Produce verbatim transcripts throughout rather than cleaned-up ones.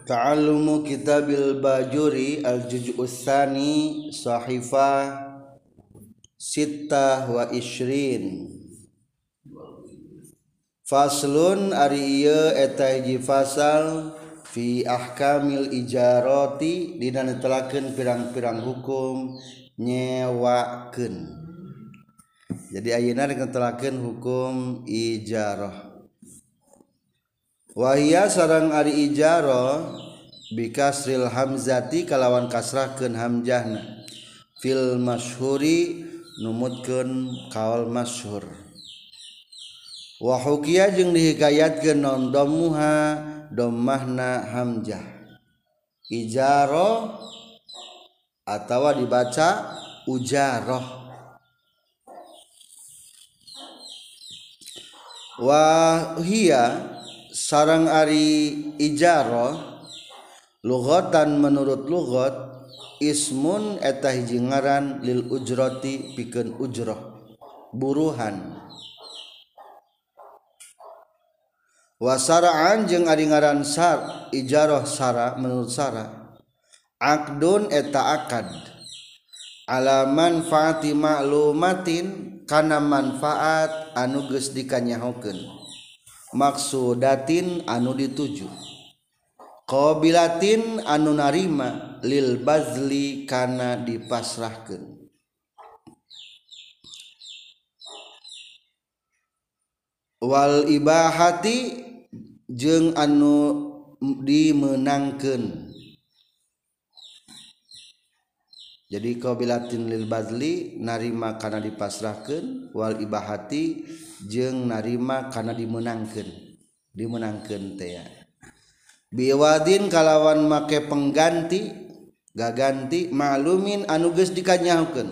Ta'allumu kitabil Bajuri al-juz'us tsani sahifah sittah wa ishrin. Faslun ari ieu eta hiji fasal fi ahkamil ijarati dina netelakeun pirang-pirang hukum nyewakeun. Jadi ayeuna netelakeun hukum ijarah. Wahia sareng ari ijarah bikasril hamzati kalawan kasrahkeun hamzahna fil masyhuri numutkeun kaul masyhur. Wa hukiya jeung dihikayatkeun non dhammuha dhammahna hamzah ijarah atawa dibaca ujarah. Wa hiya sarang ari ijarah lughatan menurut lughat ismun eta hiji ngaran lil ujrati pikeun ujrah buruhan. Wa sara'an jeung ari ngaran sar ijarah sara menurut sara aqdun eta akad ala manfaati ma'lumatin kana manfaat anu geus dikanyahokeun maksudatin anu dituju qabilatin anu narima lil bazli kana dipasrahkeun. Wal ibahati jeung anu dimenangkeun. Jadi qabilatin lil bazli narima kana dipasrahkeun, wal ibahati jeung narima kana dimenangkeun. Dimenangkeun teh ya. Biwadin kalawan make pengganti gaganti ma'lumin anu geus dikanyahokeun.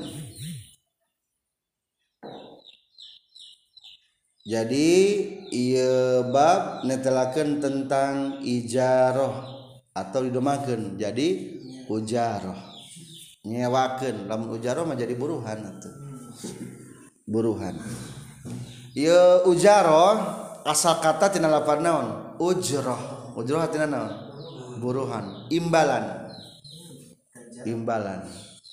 Jadi ieu bab netelakeun tentang ijarah atau didomakeun jadi ujarah. Nyewakeun lamun ujarah mah jadi buruhan atuh. Buruhan. Ieu ujarah asal kata tina lafaz naon? Ujrah. Ujrah tina naon? Buruhan, imbalan. Imbalan.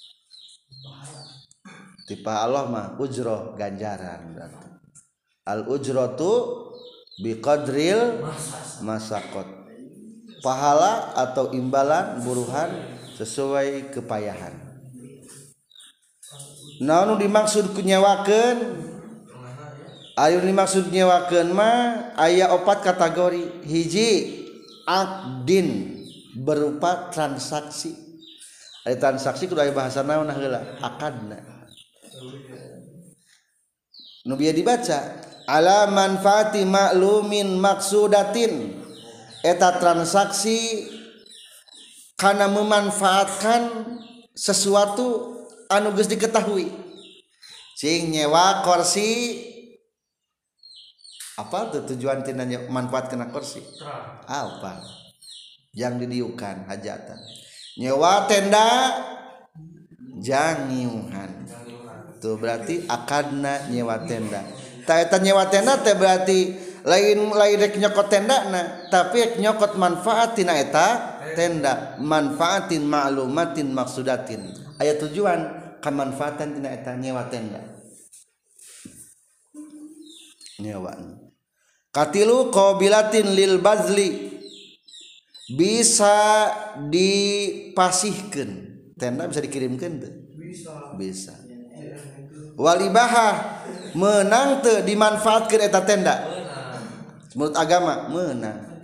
Tipa Allah mah ujrah ganjaran berarti. Al ujratu biqadril masaqat. Pahala atau imbalan buruhan sesuai kepayahan. Naon dimaksud nyewakeun? Aya dimaksud nyewakeun mah aya opat kategori. Hiji aqdin berupa transaksi. Aya transaksi kudu aya bahasa naon heula? Akadna. Nu bieu dibaca ala manfaati ma'lumin maksudatin. Eta transaksi karena memanfaatkan sesuatu anu geus diketahui. Cing nyewa kursi apa tuh tujuan tina manfaatkeun kursi? Apa? Yang didiukan hajatan. Nyewa tenda jangiuhan. Tuh berarti akadna nyewa tenda. Ta eta nyewa tenda teh berarti lain lain rek nyokot tendana tapi rek nyokot manfaat tina eta tenda manfaatin ma'lumatin maksudatin aya tujuan kamanfaatan tina eta nyewa tenda nyewa. Katilu qabilatin lil bazli bisa dipasihkeun tenda bisa dikirimkeun teu bisa bisa. Walibahah menang teu dimanfaatkeun eta tenda menurut agama menang.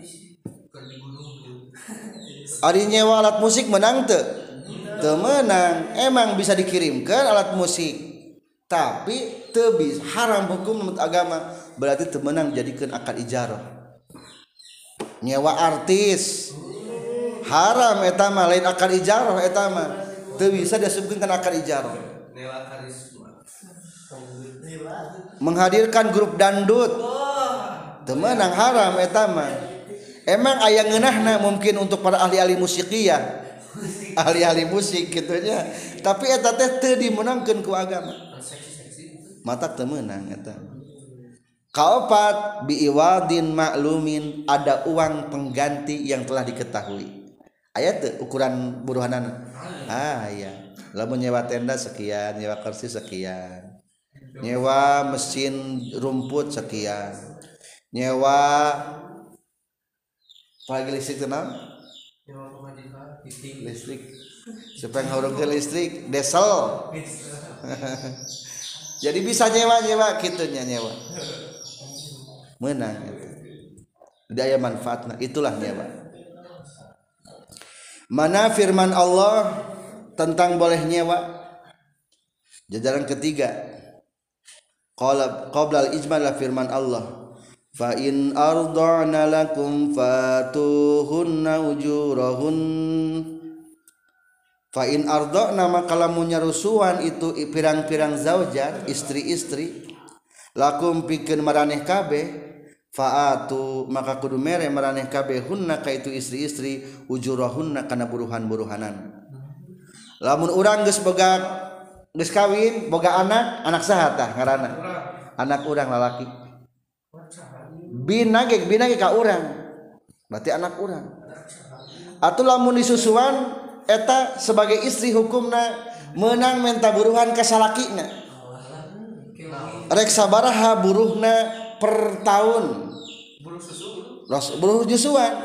Ari nyewa alat musik menang teu? Teu menang. Emang bisa dikirimkan alat musik, tapi teu bisa haram hukum menurut agama. Berarti teu menang jadikeun akad ijarah. Nyewa artis haram eta mah lain akad ijarah eta mah. Teu bisa disebutkeun kana akad ijarah. Menghadirkan grup dangdut teu menang haram eta mah. Emang aya ngeunahna mungkin untuk para ahli-ahli musikiyah, ahli-ahli musik gitu nya. Tapi eta teh teu dimenangkeun ku agama. Mata teu meunang eta. Kaopat biiwadin maklumin, ada uang pengganti yang telah diketahui. Aya teu ukuran buruhanana? Ah iya. Lamun nyewa tenda sekian, nyewa kursi sekian. Nyewa mesin rumput sekian. Nyewa pagi listrik tenang? Listrik. Supaya ngurung ke listrik, desel. Jadi bisa nyewa-nyewa kitunya nyewa. Menang itu. Daya manfaatna itulah nyewa. Mana firman Allah tentang boleh nyewa? Jajaran ketiga. Qala qabla al-ijmal la firman Allah. Fa in arda'na lakum fatuhunna ujurahun. Fa in arda'na maka lamun nyarusuan itu pirang-pirang zaujat, istri-istri, lakum pikeun maraneh kabeh, faatu maka kudu mere maraneh kabeh hunna ka itu istri-istri ujurahunna kana buruhan-buruhanan. Lamun urang geus boga geus kawin, boga anak, anak saha tah ngaranna? Anak urang lalaki. Bina ge bina ge ka urang. Berarti anak urang. Atuh lamun disusuan eta sebagai istri hukumna meunang menta buruhan ka salakina. Rek sabaraha buruhna per tahun? Buruh susu. Buruh jusuan.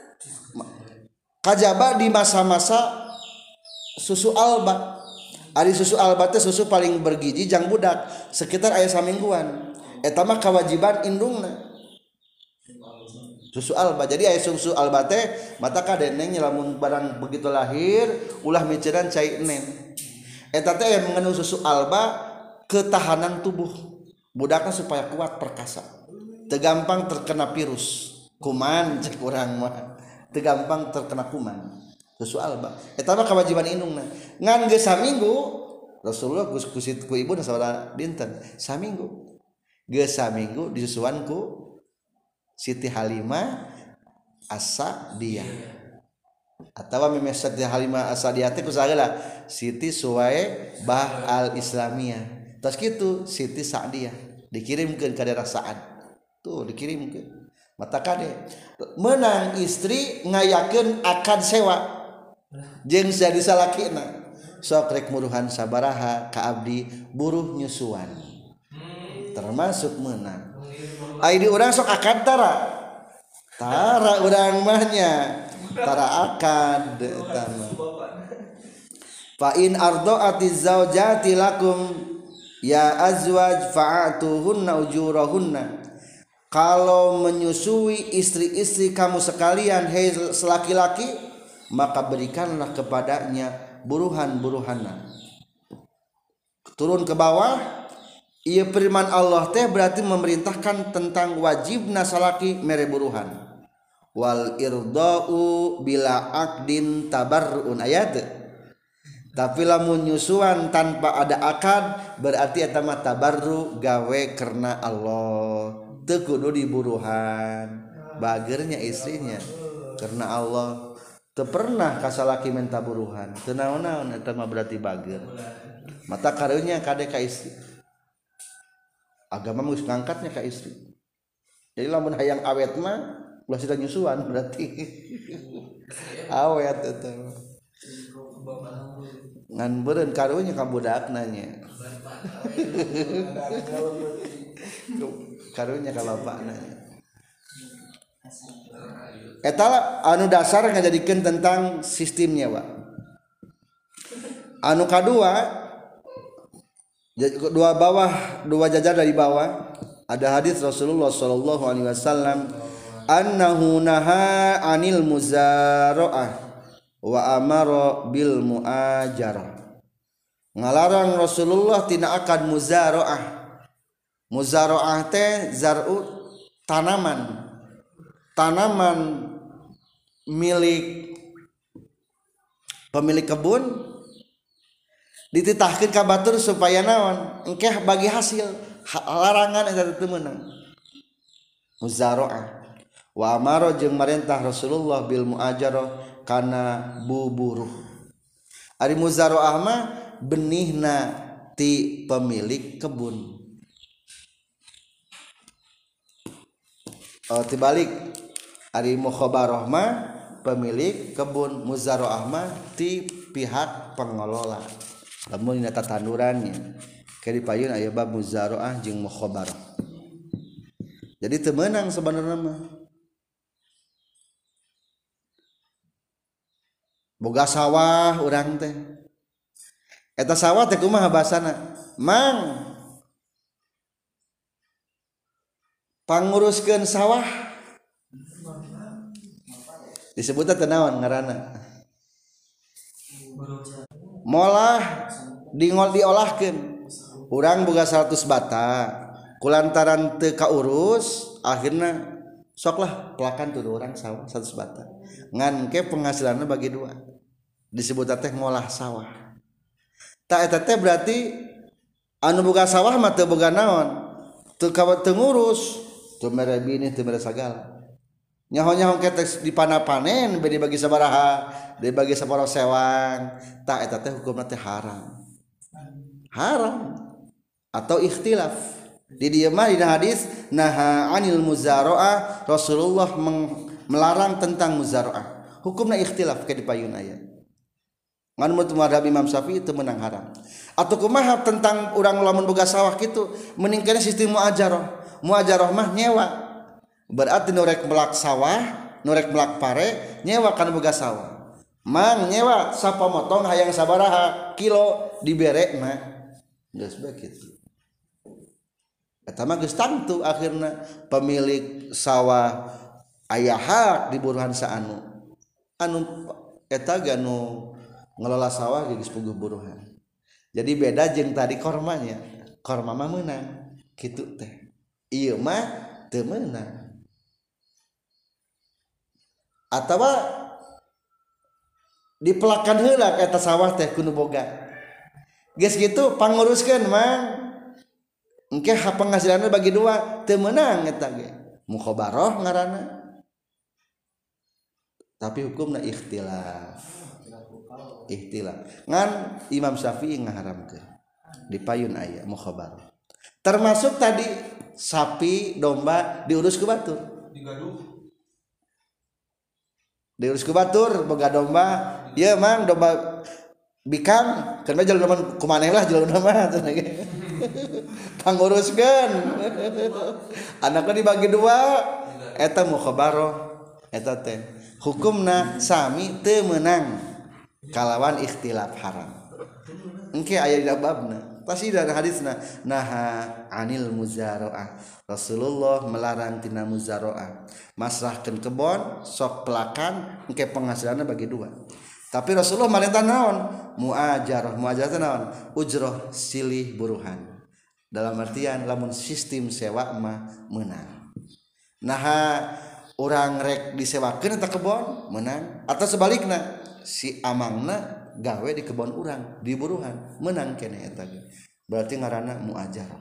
Kajaba di masa-masa susu alba. Ari susu alba teh susu paling bergizi jang budak sekitar aya samingguan. Eta mah kewajiban indungna. Susu alba. Jadi aya susu alba teh mata ka deneng lamun barang begitu lahir ulah miceran cai enen. Eta teh yang mengandung susu alba ketahanan tubuh budakna supaya kuat perkasa. Teu gampang terkena virus, kuman cek urang mah. Teu gampang terkena kuman. Susu alba. Eta mah kewajiban indungna. Ngan geus saminggu Rasulullah ku ku ibu sabaraha dinten? Saminggu. Geus saminggu disusuan ku Siti Halimah As-Sa'diyah atawa meme Siti Halimah As-Sa'diyah teh kusaha Siti Suwae Bah Al-Islamiyah. Tos kitu Siti Sa'diyah dikirimkeun ka daerah Sa'ad. Tuh dikirimkeun. Mata kade menang istri ngayakeun akad sewa jeung jadi salakina. Sok rek muruhan sabaraha ka abdi buruh nyusuan. Termasuk menang. Ai di urang sok akad tara. Tara urang mahnya. Tara akad eta mah. Fa in arda'atiz zaujati lakum ya azwaj fa'atuhunna ujurahunna. Kalau menyusui istri-istri kamu sekalian hei laki-laki maka berikanlah kepadanya buruhan-buruhanna. Turun ke bawah. Ia firman Allah teh berarti memerintahkan tentang wajibna salaki mere buruhan. Wal irda'u bila aqdin tabarruun ayat. Tapi lamun nyusuan tanpa ada akad berarti eta mah tabarru gawe karena Allah. Teu kudu diburuhan. Bagernya istrinya karena Allah. Teu pernah ka salaki minta buruhan. Teu naon-naon eta mah berarti bager. Mata karunya kade ka istri. Agama geus ngangkatnya ka istri. Jadi lamun hayang awet mah ulah sida nyusuan berarti awet eta. Ngan beureun karunya ka budakna nya. Karunya ka bapakna. Eta anu dasar ngajadikeun tentang sistemnya, Pak. Anu kadua dua bawah dua jajar dari bawah ada hadis Rasulullah sallallahu alaihi wasallam annahu naha anil muzaraah wa amara bil muajarah. Ngalarang Rasulullah tina akad muzaraah. Muzaraah teh zar'u tanaman. Tanaman milik pemilik kebun dititahkeun ka batur supaya naon engkeh bagi hasil. Larangan eta teu meunang. Muzaraah wa amara jeung marentah Rasulullah bil muajarah kana buburuh. Ari muzaraah mah benihna ti pemilik kebun. Oh tibalik ari mukhabarah mah pemilik kebun, muzaraah mah ti pihak pengelola. Lamun dina tatandurannya ke dipayun aya bab muzaraah jeung mukhabarah. Jadi teu meunang sebenarnya mah. Boga sawah urang teh. Eta sawah teh kumaha basana? Mang panguruskeun sawah disebutna teh naon ngaranna? Molah dingol diolahkeun. Urang boga seratus bata. Kulantaran teu kaurus akhirna soklah pelakan tuh urang sawah seratus bata. Ngan ke penghasilanna bagi dua. Disebut teh ngolah sawah. Tak eta teh berarti anu boga sawah mah teu boga naon? Teu teu ngurus, teu mere bini, teu mere sagala. Nyaho-nyaho ketek dipana panen bade bagi sabaraha, dibagi saparo sewang. Tak eta teh hukumna teh haram. Haram atau ikhtilaf. Di dieu mah dina hadis naha anil muzaraah, Rasulullah melarang tentang muzaraah. Hukumna ikhtilaf ke dipayun aya. Ngan menurut mazhab Imam Syafi'i itu menang haram. Atau kumaha tentang urang lamun boga sawah kitu mending kana sistem muajarah. Muajarah mah nyewa. Berarti norek melak sawah, norek melak pare nyewa kana boga sawah. Mang nyewa sapamotong hayang sabaraha kilo diberekna. Geus bae kitu. Eta mah geus tangtu akhirna pemilik sawah aya hak di buruhan saanu. Anu eta ganu ngelola sawah geus puguh buruhan. Jadi beda jeung tadi kormanya. Korma mah meunang kitu teh. Ieu mah teu meunang. Atawa dipelakan heula eta sawah teh kudu boga. Geus kitu panguruskeun mang engke penghasilanna bagi dua teu meunang eta ge mukhabarah ngaranna tapi hukumna ikhtilaf ikhtilaf ngan Imam Syafi'i ngaharamkeun dipayun aya mukhabarah termasuk tadi sapi domba diurus ku batur digaduh diurus ku batur boga domba ieu mang domba bikang kan bae jalan kumaneh lah jalan mah panguruskeun anakna dibagi dua eta mukhabarah eta teh hukumna sami teu meunang kalawan ikhtilaf haram engke aya dina babna pasti dari hadisna naha anil muzaraah Rasulullah melarang tina muzaraah masrahkeun kebon sok pelakan engke penghasilanna bagi dua tapi Rasulullah marintah naon muajarah muajarah teh naon ujrah silih buruhan dalam artian lamun sistem sewa mah meunang naha urang rek disewakeun eta kebon meunang atau sebalikna si amangna gawe di kebon urang di buruhan meunang keneh eta ge berarti ngaranna muajarah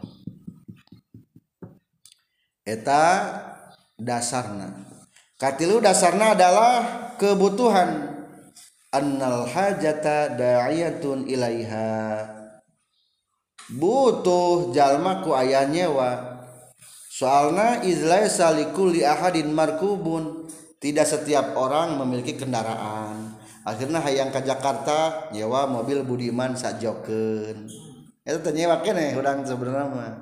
eta dasarna katilu dasarna adalah kebutuhan annal hajata da'iyatun ilaiha butuh jalma ku aya nyewa soalna izlaisa likulli ahadin markubun tidak setiap orang memiliki kendaraan akhirnya hayang ka Jakarta nyewa mobil Budiman sajokeun eta teh nyewa keneh urang sebenarnya mah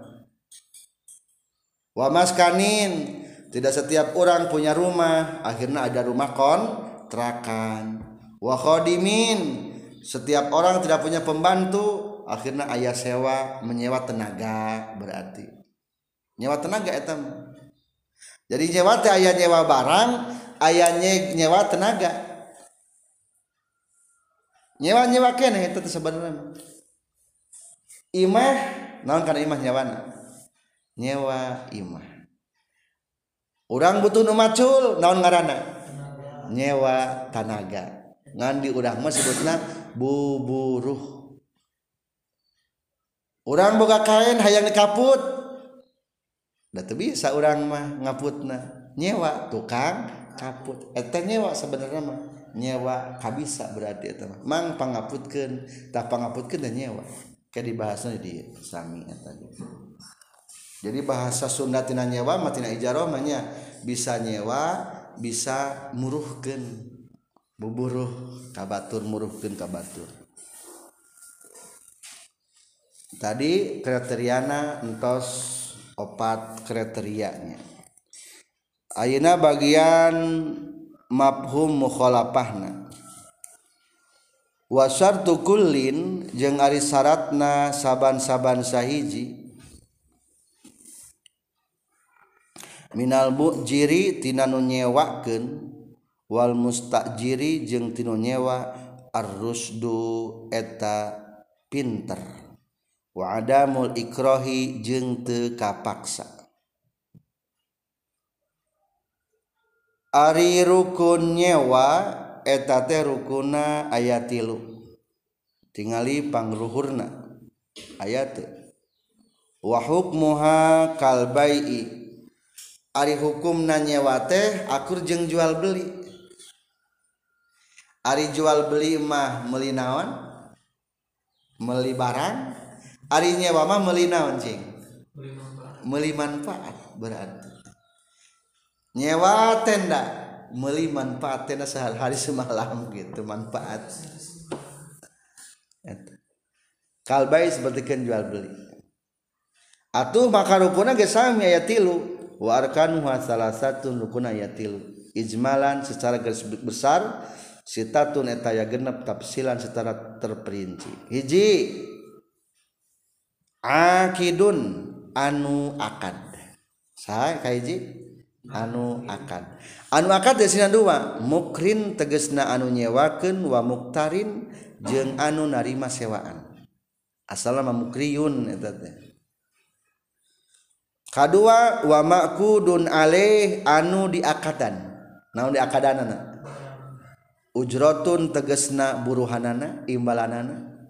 wa maskanin tidak setiap orang punya rumah akhirnya ada rumah kontrakan wa khadimin setiap orang tidak punya pembantu akhirnya aya sewa menyewa tenaga berarti nyewa tenaga eta jadi nyewa teh aya nyewa barang aya nyewa tenaga nyewa-nyewa keneh eta teh sabenerna imah naon kana imah nyewana nyewa imah urang butuh nu macul naon ngaranna nyewa tenaga ngan di urang mah sebutna buburuh urang boga kain hayang dikaput da teu bisa urang mah ngaputna nyewa tukang kaput eta nyewa sebenarnya mah nyewa kabisa berarti eta mah mang pangaputkeun tah pangaputkeun da nyewa ke dibahasna di sami eta jadi bahasa Sunda tina nyewa mah tina ijarah mah nya bisa nyewa bisa muruhkeun buburuh kabatur muruhkeun kabatur. Tadi kriteriana entos opat kriterianya. Ayeuna bagian mafhum mukhalafahna. Wa syartu kullin jeung ari syaratna saban-saban sahiji minal mujiri tina nu nyewakeun wal mustajiri jeung tinu nyewa ar-rusdu eta pinter wa adamul ikrahi jeung teu kapaksa. Ari rukun nyewa eta teh rukuna aya tilu tingali pangluhurna aya teu wa hukmuha kal bai'i ari hukumna nyewa teh akur jeung jual beli. Ari jual beli mah meuli naon meuli barang, ari nyewa mah meuli naon cing meuli manfaat. Berarti nyewa tenda meuli manfaat tenda sehari semalam gitu manfaat. Kalbai seperti jual beli. Atuh maka rukuna ge sami aya tilu wa arkanuha salasatun rukuna aya tilu ijmalan secara garis besar sitatun eta aya genep tafsilan secara terperinci. Hiji akidun anu akad. Saha kahiji anu akad. Anu akad desina dua, mukrin tegesna anu nyewakeun wa muktarin jeung anu narima sewaan. Asalna mukriyun eta teh. Kadua wa maqudun alaih anu diakadan. Naon diakadanana? Ujratun tegesna buruhanana, imbalanana.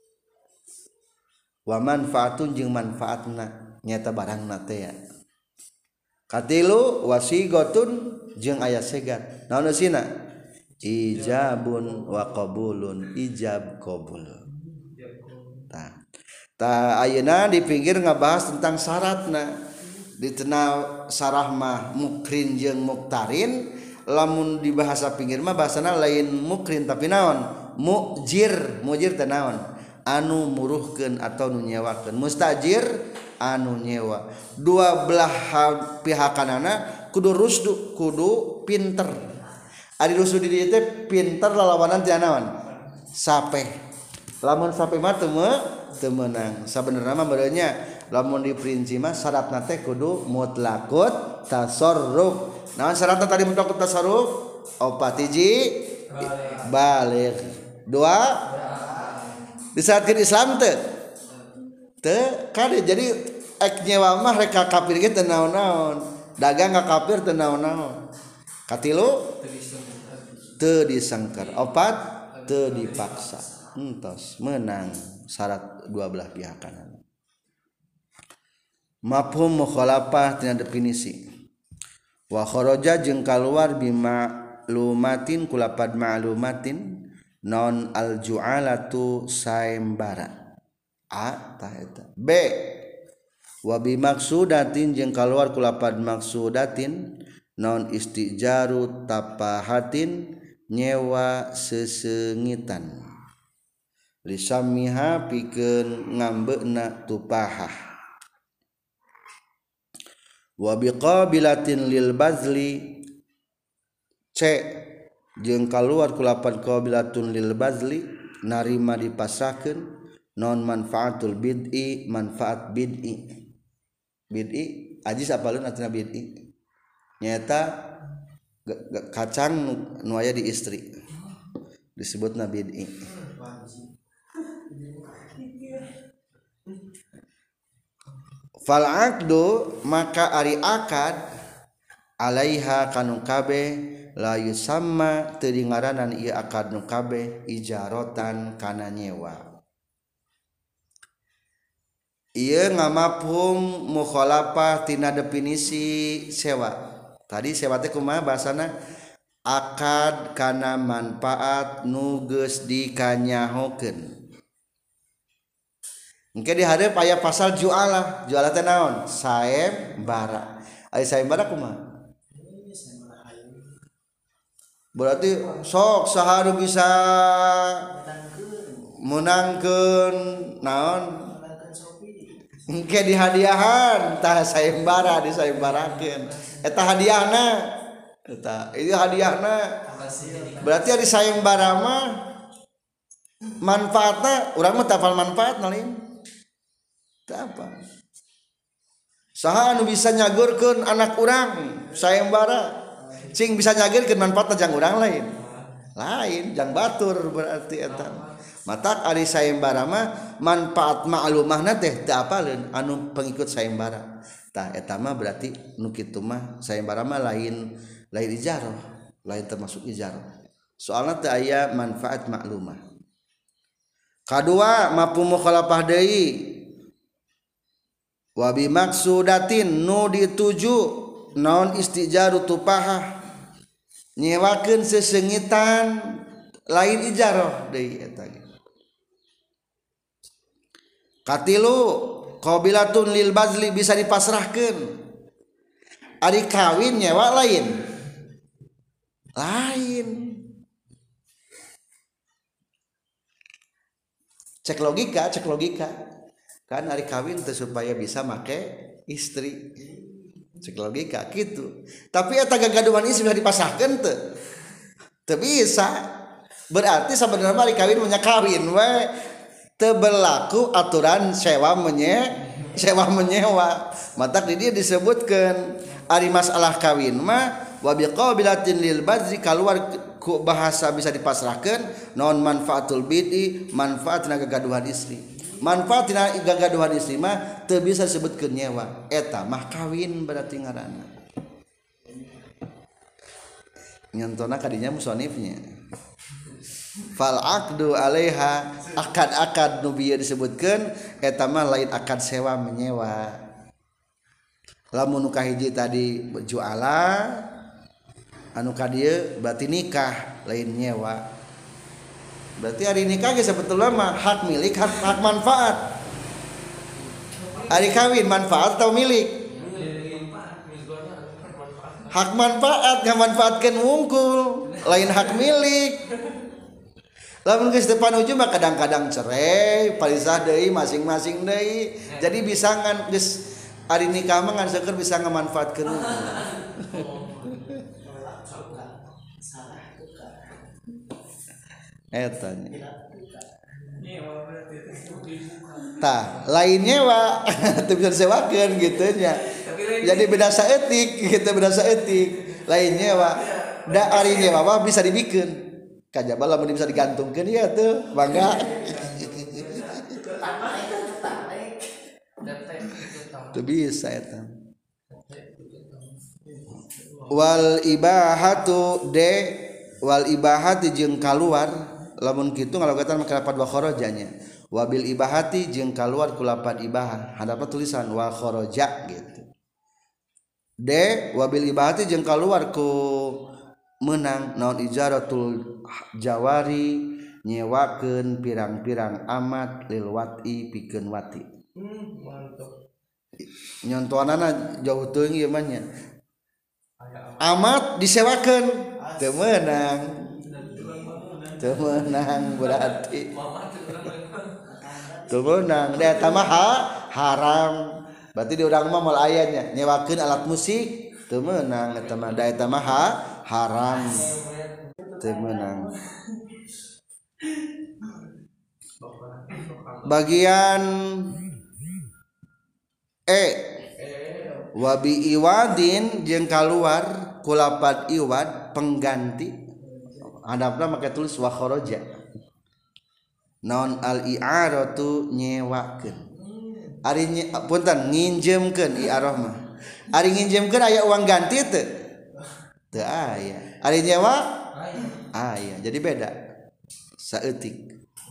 Wa manfaatun jeung manfaatna nyata barangna teh ya. Katilu wasigotun jeung aya segat. Naon eusina? Ijabun wa qabulun, ijab qabul. Tah. Tah ayeuna di pinggir ngabahas tentang syaratna. Di tengah sarah mah mukrin jeung muktarin, lamun di bahasa pinggir mah bahasana lain mukrin tapi naon? Mujir, mujir teh naon? Anu muruhkeun atau nu nyewakeun. Mustajir anu nyewa. Dua belah pihakanana kudu rusdu, kudu pinter. Ari rusdu di dieu teh pinter lalawanan teh naon? Sapeh. Lamun sapeh mah teu teu meunang. Sabenerna mah beureunya lamun diperinci mah syaratna teh kudu mutlaqut tasarruf. Naon syaratna tadi mutlaqut tasarruf? Opat hiji baligh. Dua disaatkeun Islam teu? Teu kade jadi ek nyewa mah rek kafir ge teu naon-naon. Dagang ka kafir teu naon-naon. Katilu teu disengker. Opat teu dipaksa. Entos menang syarat dua belah pihakan. Mafhum mukhalafah tina definisi. Wa kharaja jeung kaluar bima lumatin kulapad ma'lumatin non al ju'alatu sayembara. A tah eta. B wa bi maksudatin jeung kaluar kulapad maksudatin non istijaru tapahatin nyewa sesengitan. Lisamiha pikeun ngambeuna tupahah. Wa biqabilatin lil bazli C jeung kaluar kulapan qabilatun lil bazli narima dipasrahkeun non manfaatul bid'i manfaat bid'i. Bid'i ajis apaleun artina bid'i nyaeta kacang nu aya di istri disebutna bid'i. Fal aqdu maka ari akad alaiha kanu kabeh la yusamma teu dingaranan ieu akad nu kabeh ijaratan kana nyewa. Ieu ngamafhum mukhalafah tina definisi sewa. Tadi sewa teh kumaha bahasana? Akad kana manfaat nu geus dikanyahokeun. Engke di hadeup aya pasal jualah. Jualah teh naon? Sayembara. Ari sayembara kumaha? berarti sok saharu bisa menangkeun naon engke dihadiahan tah sayembara disayembarakeun eta hadiahna eta ieu hadiahna berarti ari sayembara mah manfaatna urang mah tapal manfaatna lain teu apa saha anu bisa nyagurkeun anak urang sayembara cing bisa nyagirkeun manfaatna jang urang lain lain jang batur berarti eta matak ari sayembara mah manfaat maklumahna teh teu apaleun anu pengikut sayembara tah eta mah berarti nu kitu mah sayembara mah lain lain ijarah lain termasuk ijarah soalna teu aya manfaat maklumah kadua mafhum mukhalafah deui wa bi maksudatin nu dituju naon istijaru tupahah nyewakeun sesengitan lain ijarah deui eta ge katilu qabilatun lil bazli bisa dipasrahkeun ari kawin nyewa lain lain cek logika cek logika kan ari kawin teh supaya bisa make istri cek logika gitu tapi eta gagaduhan istri bisa dipasrahkeun teu teu bisa berarti sebenarnya ari kawin nya kawin we teu berlaku aturan sewa menye sewa menyewa matak di dia disebutkeun ari masalah kawin mah wa biqabilatin lil badri kaluar ku bahasa bisa dipasrahkeun naon manfaatul bid'i manfaat tina gagaduhan istri manfaat tina gagaduhan istri mah teu bisa disebutkeun nyewa eta mah kawin berarti ngaranna nyontona kadinya musannifnya fal aqdu alaiha akad-akad nu bieu disebutkeun eta mah lain akad sewa menyewa lamun nu kahiji tadi juala anu ka dieu berarti nikah lain nyewa berarti hari nikah ge sebetulna mah hak milik hak, hak manfaat hari kawin manfaat atau milik hak manfaat ngamanfaatkeun wungkul lain hak milik lamun geus teu panuju mah kadang-kadang cerai palisah deui masing-masing deui jadi bisa ngan geus ari nikah mah ngan seukeur bisa ngamanfaatkeun eta tah lain nyewa teu bisa disewakeun gitu nya jadi beda saeutik kita beda saeutik lain nyewa da ari nyewa mah bisa dibikeun kajaba lamun bisa digantungkeun ya tuh bangga teu bisa eta wal ibahatu de wal ibahati jeung kaluar lamun kitu ngalogetan make lapat wa kharajanya wabil ibahati jeung kaluar ku lapat ibahah hadapna tulisan wa kharaja gitu de wabil ibahati jeung kaluar ku menang naon ijaratul jawari nyewakeun pirang-pirang amat lil wati pikeun wati hmm, mantap nyontoanana jauh teuing ieu mah nya amat disewakeun teu meunang teu meunang berarti teu meunang da eta mah haram berarti di urang mah moal aya nya nyewakeun alat musik teu meunang eta mah da eta mah haram teu meunang bagian E wabi iwadin jeung kaluar kulapat iwad pengganti hadapna make tulis wa kharaja naon al i'aratu nyewakeun ari nye, punten nginjemkeun i'arah mah ari nginjemkeun aya uang ganti teu teu aya ari nyewa aya jadi beda saeutik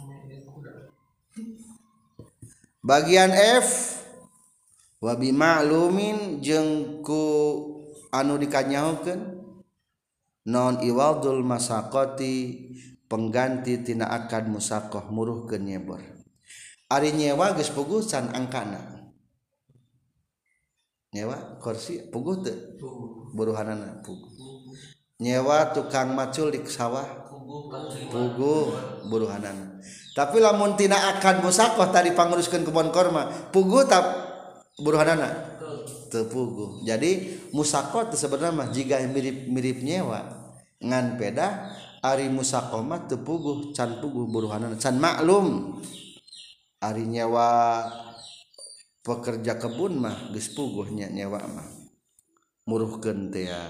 bagian F wa bi ma'lumin jeung ku anu dikanyahokeun non iwadul masaqati pengganti tina akad musaqah muruhkeun nyebor ari nyewa geus pugusan angkana nyewa kursi puguh teu buruhanana puguh nyewa tukang macul di sawah puguh buruhanana. Tapi lamun tina akan musakoh tadi panguruskeun kebon korma puguh tap buruhanana teu puguh. Jadi musakoh teh sebenarnya mah jiga mirip-mirip nyewa ngan peda ari musakoh mah teu puguh can puguh buruhanana can maklum. Ari nyewa pekerja kebun mah geus puguhnya nyewa mah muruhkeun teh ya.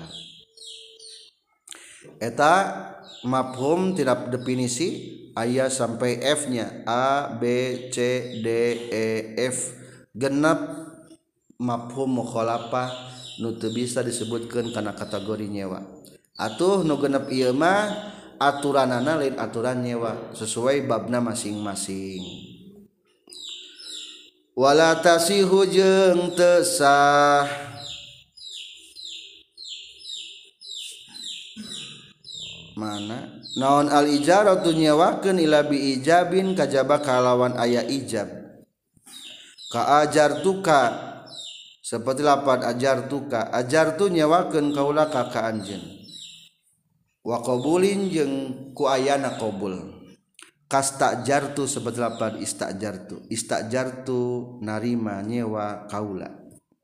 Eta mafhum tidak definisi aya sampai F nya A B C D E F genep mafhum mukhalafah nu teu bisa disebutkeun kana kategori nyewa. Atuh nu genep ieu mah aturanana lain aturan nyewa sesuai babna masing-masing. Wala tasihu jeung teu sah mana naon al ijaratu nyewakeun ila bi ijabin kajaba kalawan aya ijab ka ajartuka seperti lapan ajartuka ajartu nyewakeun kaula ka ka anjeun wa qabulin jeung ku ayana qabul kastajartu seperti lapan istajartu istajartu narima nyewa kaula.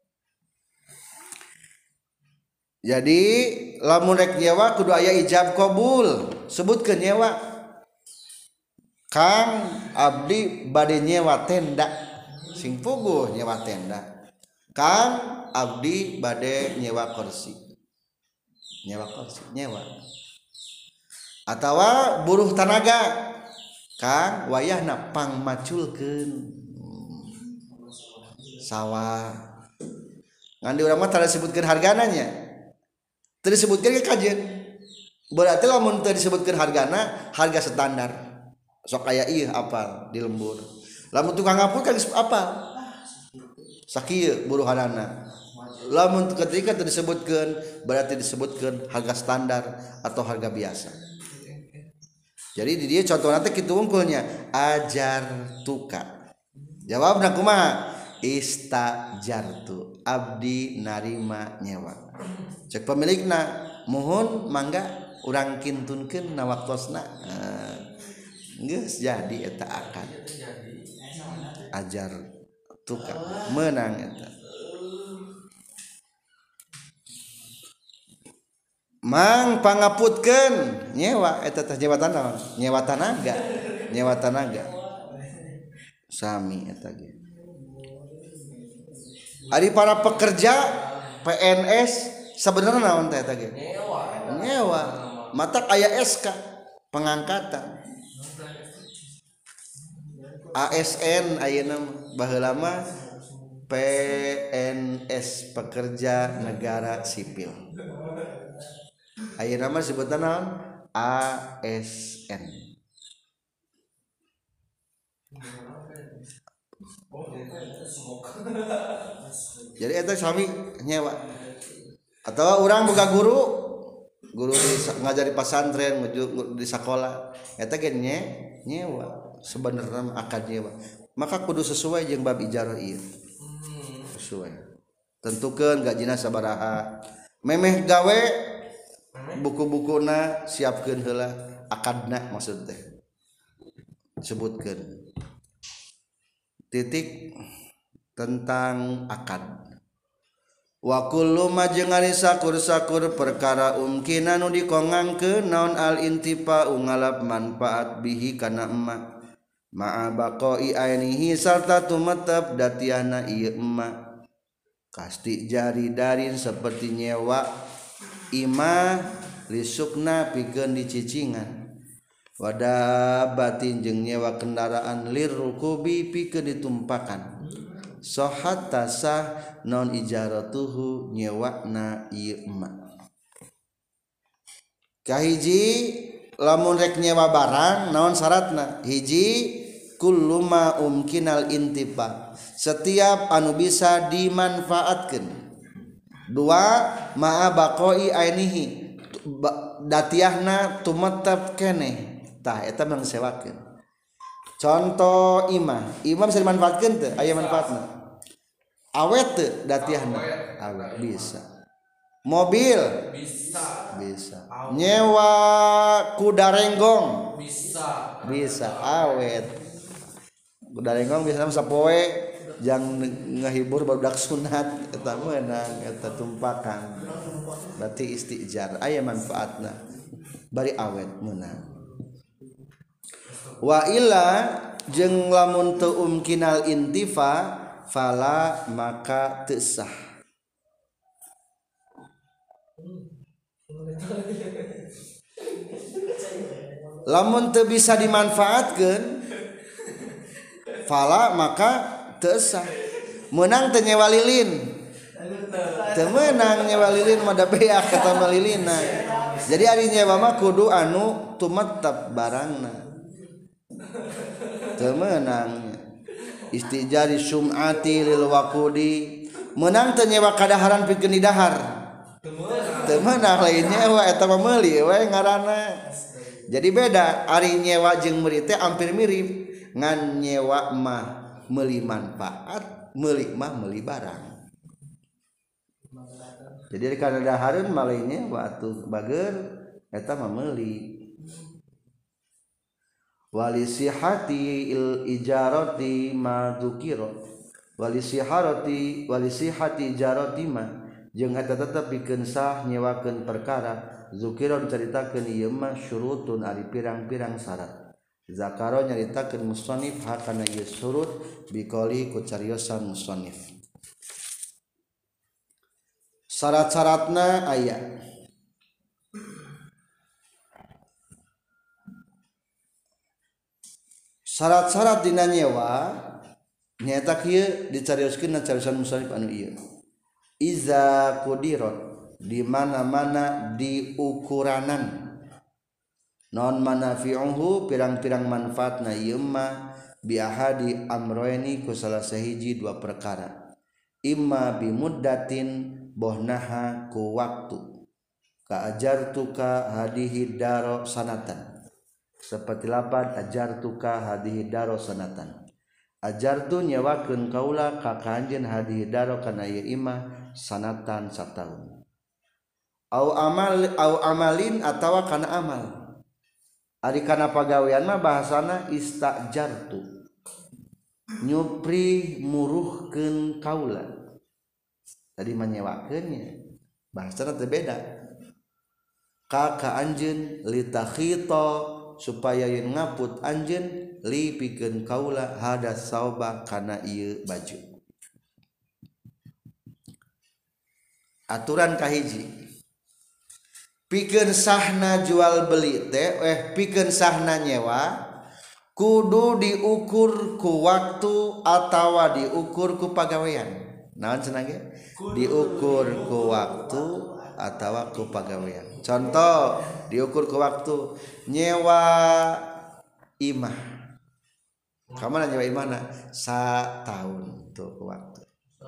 Jadi lamun rek nyewa kudu aya ijab qabul sebutkeun nyewa Kang abdi bade nyewa tenda sing puguh nyewa tenda Kang abdi bade nyewa kursi nyewa kursi nyewa atawa buruh tanaga Kang wayahna pangmaculkeun sawah ngan di urang mah tara disebutkeun hargana nya teu disebutkeun ke kajeun berarti lamun teu disebutkeun hargana harga standar sok aya ieu apal di lembur lamun tukang ngapur kan apal sakieu buruhanana lamun ketika teu disebutkeun berarti disebutkeun harga standar atau harga biasa. Jadi di dieu contohna teh kitu wungkulnya ajar tuka jawabna kumaha istajartu abdi narima nyewa cek pemilikna muhun mangga urang kintunkeun na waktosna geus jadi eta akad ajar tuka menang eta mang pangaputkeun nyewa eta teh nyewa tanah nyewa tanaga nyewa tanaga sami eta ge ari para pekerja P N S sebenarnya naon teh eta ge nyewa nyewa matak aya S K pengangkatan A S N ayeuna baheula mah P N S pekerja negara sipil ayeuna mah disebutna naon A S N jadi eta sami nyewa atau orang boga guru guru di ngajari pasantren di sekolah eta ge nyewa sebenarnya akad nyewa maka kudu sesuai jeung bab ijarah ieu sesuai tentukeun gajina sabaraha memeh gawe buku-bukuna siapkeun heula akadna maksud teh sebutkeun titik tentang akad wa kullu ma jeung ari sakur-sakur perkara umkina nu dikongangkeun naon al intifa ngalap manfaat bihi kana emma ma'a baqai ainihi sarta tumetep datiana ieu emma kasti jari darin seperti nyewa ima lisukna pikeun dicicingan wada batin jeung nyewa kendaraan lirukubi pikeun ditumpakan sohat tasah non ijaratuhu nyewakna ieu emma kahiji lamun rek nyewa barang naon syaratna hiji kulluma umkinal intifa setiap anu bisa dimanfaatkeun dua ma'a baqoi ainihi datiahna tumetep keneh tah eta mangsewakeun contoh imah imah bisa dimanfaatkeun teu aya manfaatna awet teu datiahna awet bisa mobil bisa bisa nyewa kuda renggong bisa bisa awet kuda renggong bisa sapoe jang ngehibur barudak sunat eta meunang eta tumpakan berarti istijar aya manfaatna bari awet meunang wa illa jeung lamun teu umkinal intifa fala maka teu sah lamun teu bisa dimanfaatkeun fala maka teu sah meunang teu nyewa lilin teu meunang nyewa lilin mah da beak eta mah lilina jadi ari nyewa mah kudu anu tumetep barangna teu meunang istijari sum'ati lil waqudi meunang teu nyewa kadaharan pikeun di dahar teu meunang lain nyewa eta mah meuli we ngaranna jadi beda ari nyewa jeung meuli teh hampir mirip ngan nyewa mah meuli manfaat meuli mah meuli barang jadi kana dahareun mah lain nyewa atuh bager eta mah meuli wali sihati il ijarati ma dzukira wali siharati wali sihati ijarati ma jeung eta tetep pikeun sah nyewakeun perkara dzukira dicaritakeun ieu mah syurutun ari pirang-pirang syarat zakaro nyaritakeun musannif hakana ieu surut biqoli ku cariosan musannif syarat-syaratna aya syarat-syarat dina nyewa nyaeta kieu dicarioskeun na cariosan musannif anu ieu iza qudirat di mana-mana diukuranan non manafi'uhu pirang-pirang manfaatna ieu mah bi ahadi amroeni ku salah sahiji dua perkara imma bi muddatin bohnaha ku waktu ka ajartuka hadihi daro sanatan seperti lapad ajartuka hadihi daro sanatan ajartu nyewakeun kaula ka kanjeun hadihi daro kana ieu imah sanatan sataun au amal au amalin atawa kana amal ari kana pagawean mah bahasana istajartu nyupri muruhkeun kaula tadi menyewakeunnya bahasana teu beda ka ka anjeun litakhita supaya yen ngaput anjeun li pikeun kaula hada sauba kana ieu baju aturan kahiji pikeun sahna jual beli teh eh pikeun sahna nyewa kudu diukur ku waktu atawa diukur ku pagawean naon cenah ge diukur ku waktu atawa ku pagawean contoh diukur ku waktu nyewa imah kamana nyewa imahna satahun tuh ku waktu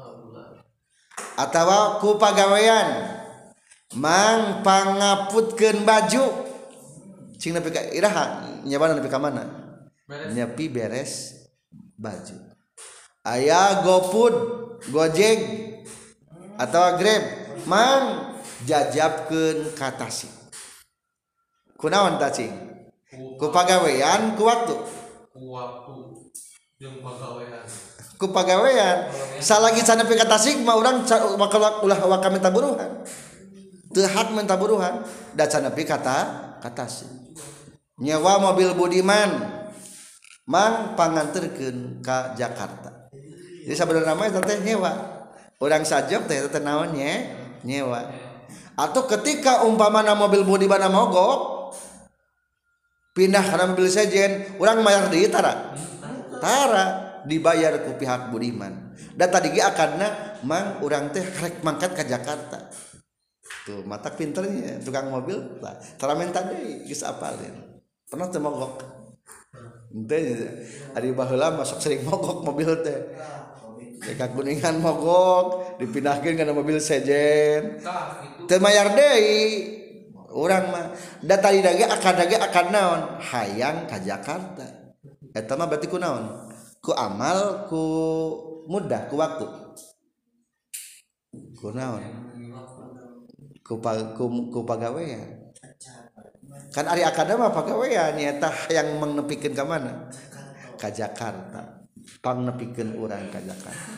atawa ku pagawean mang pangaputkeun baju cing nepi ka iraha nyewana nepi ka mana nyepi beres baju aya GoFood Gojek atawa Grab mang jajabkeun ka tasik kunaon tah cing ku pagawean ku waktu ku waktu jeung pagawean ku pagawean salagi can nepi ka tasik mah urang ulah waka minta buruhan teu hak minta buruhan da can nepi kata katasi nyewa mobil budiman mang panganterkeun ka Jakarta jadi sabenerna mah teh nyewa urang sajog teh teh naon nya nyewa atau ketika umpamana mobil budiman mogok pindah kana mobil sejen urang mayar deui tara tara dibayar ku pihak budiman da tadi ge akadna mang urang teh rek mangkat ka Jakarta tuh mata pinternya tukang mobil lah tara minta deui geus apalin pernah teu mogok henteu ari baheula masuk sering mogok mobil teh ka Kuningan mogok dipindahkeun kana mobil sejen teu mayar deui urang mah da tadi dage akad dage akad naon hayang ka Jakarta eta mah berarti ku naon ku amal ku mudah ku waktu ku naon ku, ku, ku pagawean kan ari akad mah pagawean nyata yang menepikeun ka mana ka Jakarta pangnepikeun urang ka Jakarta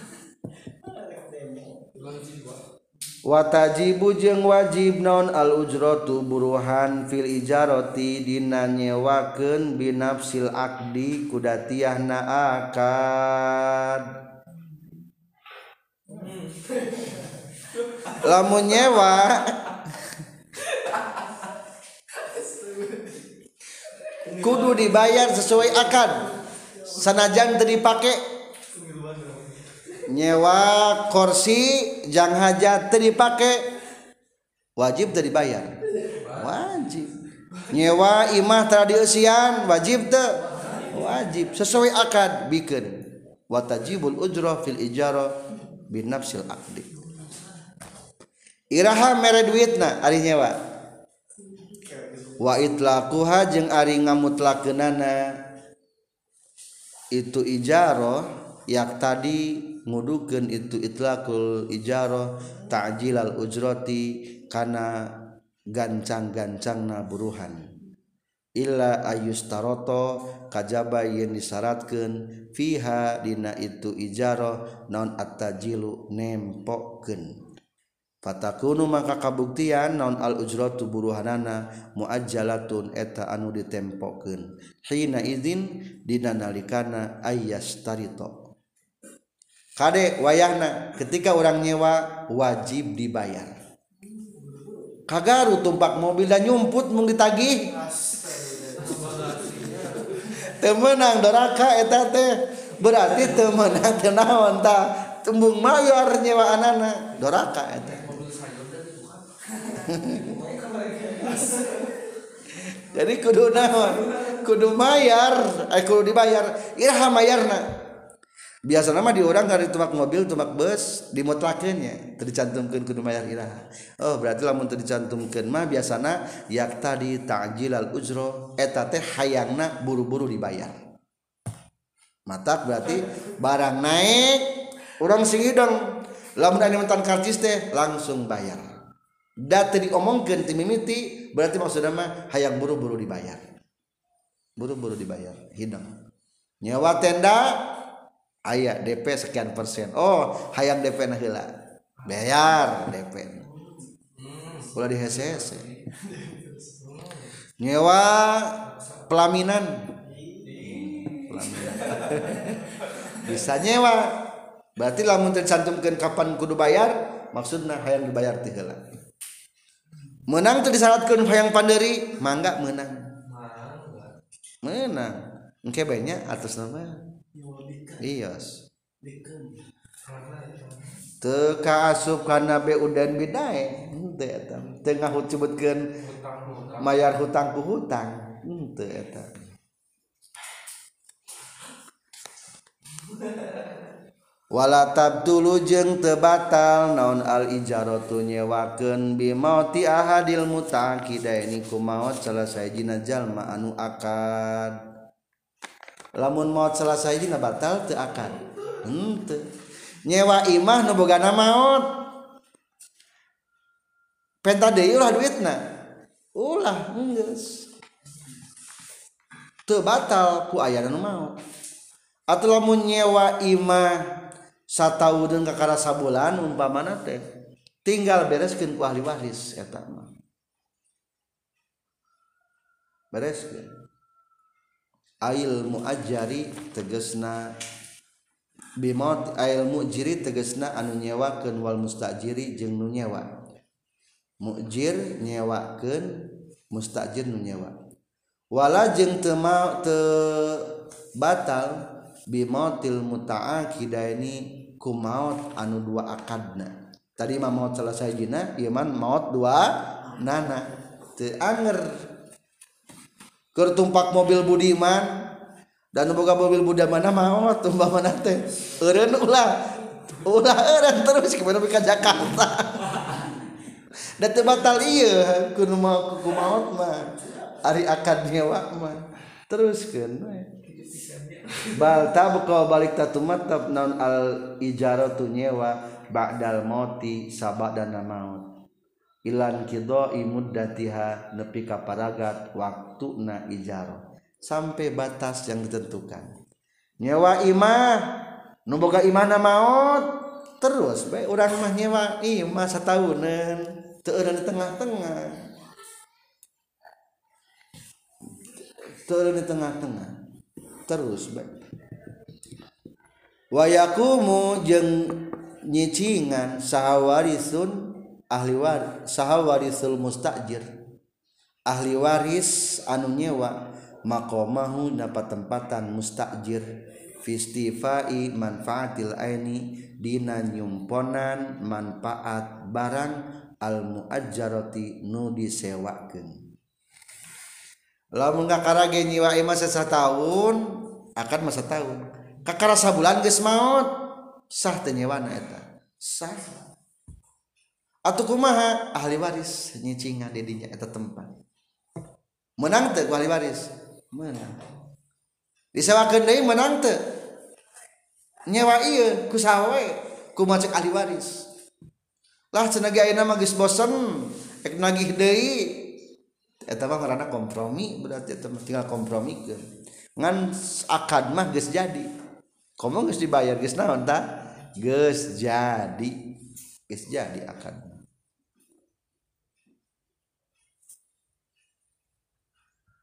watajibu jeung wajib naon al ujratu buruhan fil ijarati dina nyewakeun binafsil akdi kudatiahna akad lamun nyewa kudu dibayar sesuai akad sanajan teu dipake nyewa kursi jang hajat teu dipake wajib teu dibayar wajib nyewa imah tara dieusian wajib teu wajib sesuai akad bikeun watajibul ujrah fil ijarah binafsil aqdi iraha mere duitna ari nyewa wa itlaquha jeung ari ngamutlakeunana itu ijarah yak tadi ngudukeun itu itlaqul ijarah ta'jilal ujrati kana gancang-gancangna buruhan illa ayustaroto kajaba yen disyaratkeun fiha dina itu ijarah naon at-tajilu nempokeun fatakunu maka kabuktian naon al ujratu buruhanana muajjalatun eta anu ditempokeun hina izin dina nalikana ayyastarito kade wayahna ketika orang nyewa wajib dibayar kagaru tumpak mobil dan nyumput mung ditagih teu meunang doraka eta teh berarti teu meunang teu naon tah tembung mayar nyewaanana doraka eta jadi kudu naon kudu mayar eh kudu dibayar iraha mayarna biasana mah di urang dari tumak mobil tumak bus dimutlakeunnya teu dicantumkeun kudu mayar iraha oh berarti lamun teu dicantumkeun mah biasana yak tadi ta'jilal ujra eta teh hayangna buru-buru dibayar matak berarti barang naik urang singideng lamun aya mentan karcis teh langsung bayar da teu diomongkeun ti mimiti berarti maksudna mah hayang buru-buru dibayar buru-buru dibayar hidang nyewa tenda aya D P sekian persen oh hayang D P na heula bayar D P ulah di hese-hese nyewa pelaminan pelaminan bisa nyewa berarti lamun tercantumkeun kapan kudu bayar maksudna hayang dibayar teh heula menang teu disyaratkeun hayang panderi mangga meunang meunang engke bae nya atos nama iyos teu kaasup kana beu dan bidae henteu eta teu ngahucubutkeun mayar hutang ku hutang henteu eta wala tabtulu jeung teu batal naon al ijaratu nyewakeun bi mauti ahadil mutaqidaini ku maot salah sajina jalma anu akad lamun maot salah sajina batal teu akad henteu nyewa imah nu bogana maot penta deui ulah duitna ulah geus teu batal ku aya nu maot atuh lamun nyewa imah satahun kakara sabulan umpamana teh tinggal bereskeun ku ahli waris eta mah bereskeun ail muajjari tegasna bimot ail mujiri tegasna anu nyewakeun wal mustajiri jeung nu nyewa mujir nyewakeun mustajir nu nyewa wala jeung teu teu batal bimautil muta'aqidaini ku maut anu dua akadna tadi mah maut salah sajina ieu mah maut dua nana teu anger keur tumpak mobil budiman dan boga mobil budiman maot umpamana teh eureun ulah ulah eureun terus kemana ka Jakarta da teu batal ieu kudu mau ku maot mah ari akad nyewa mah teruskeun we bal tabqa balik tatumatab naun al ijaratu nyewa ba'dal mauti sabadana maut ilan qidai muddatiha nepi ka paragat waktuna ijarah sampai batas yang ditentukan. Nyewa imah nu boga imahna maot terus bae urang mah nyewa imah sataunan teu eureun di tengah-tengah teu eureun di tengah-tengah terus bae wa yaqumu jeung nyicingan sahawarisun ahli waris sahawarisul mustajir ahli waris anu nyewa maqamahu dapat tempatan mustajir fistifai manfaatil aini dina nyumponan manfaat barang al muajjarati nu disewakeun. Lamun kakarage nyiwa imah satahun akan masa tahun kakara sabulan geus maot sah teu nyewana eta sah atuh kumaha ahli waris nyicingan di dinya eta tempat menang teu ku ahli waris menang disewakeun deui menang teu nyewa ieu ku sawe ku macek ahli waris lah cenah ge ayeuna mah geus bosen rek nagih deui eta mah ngaranna kompromi berarti eta tinggal kompromikeun ngan akad mah geus jadi komo geus dibayar geus naon tah geus jadi geus jadi akad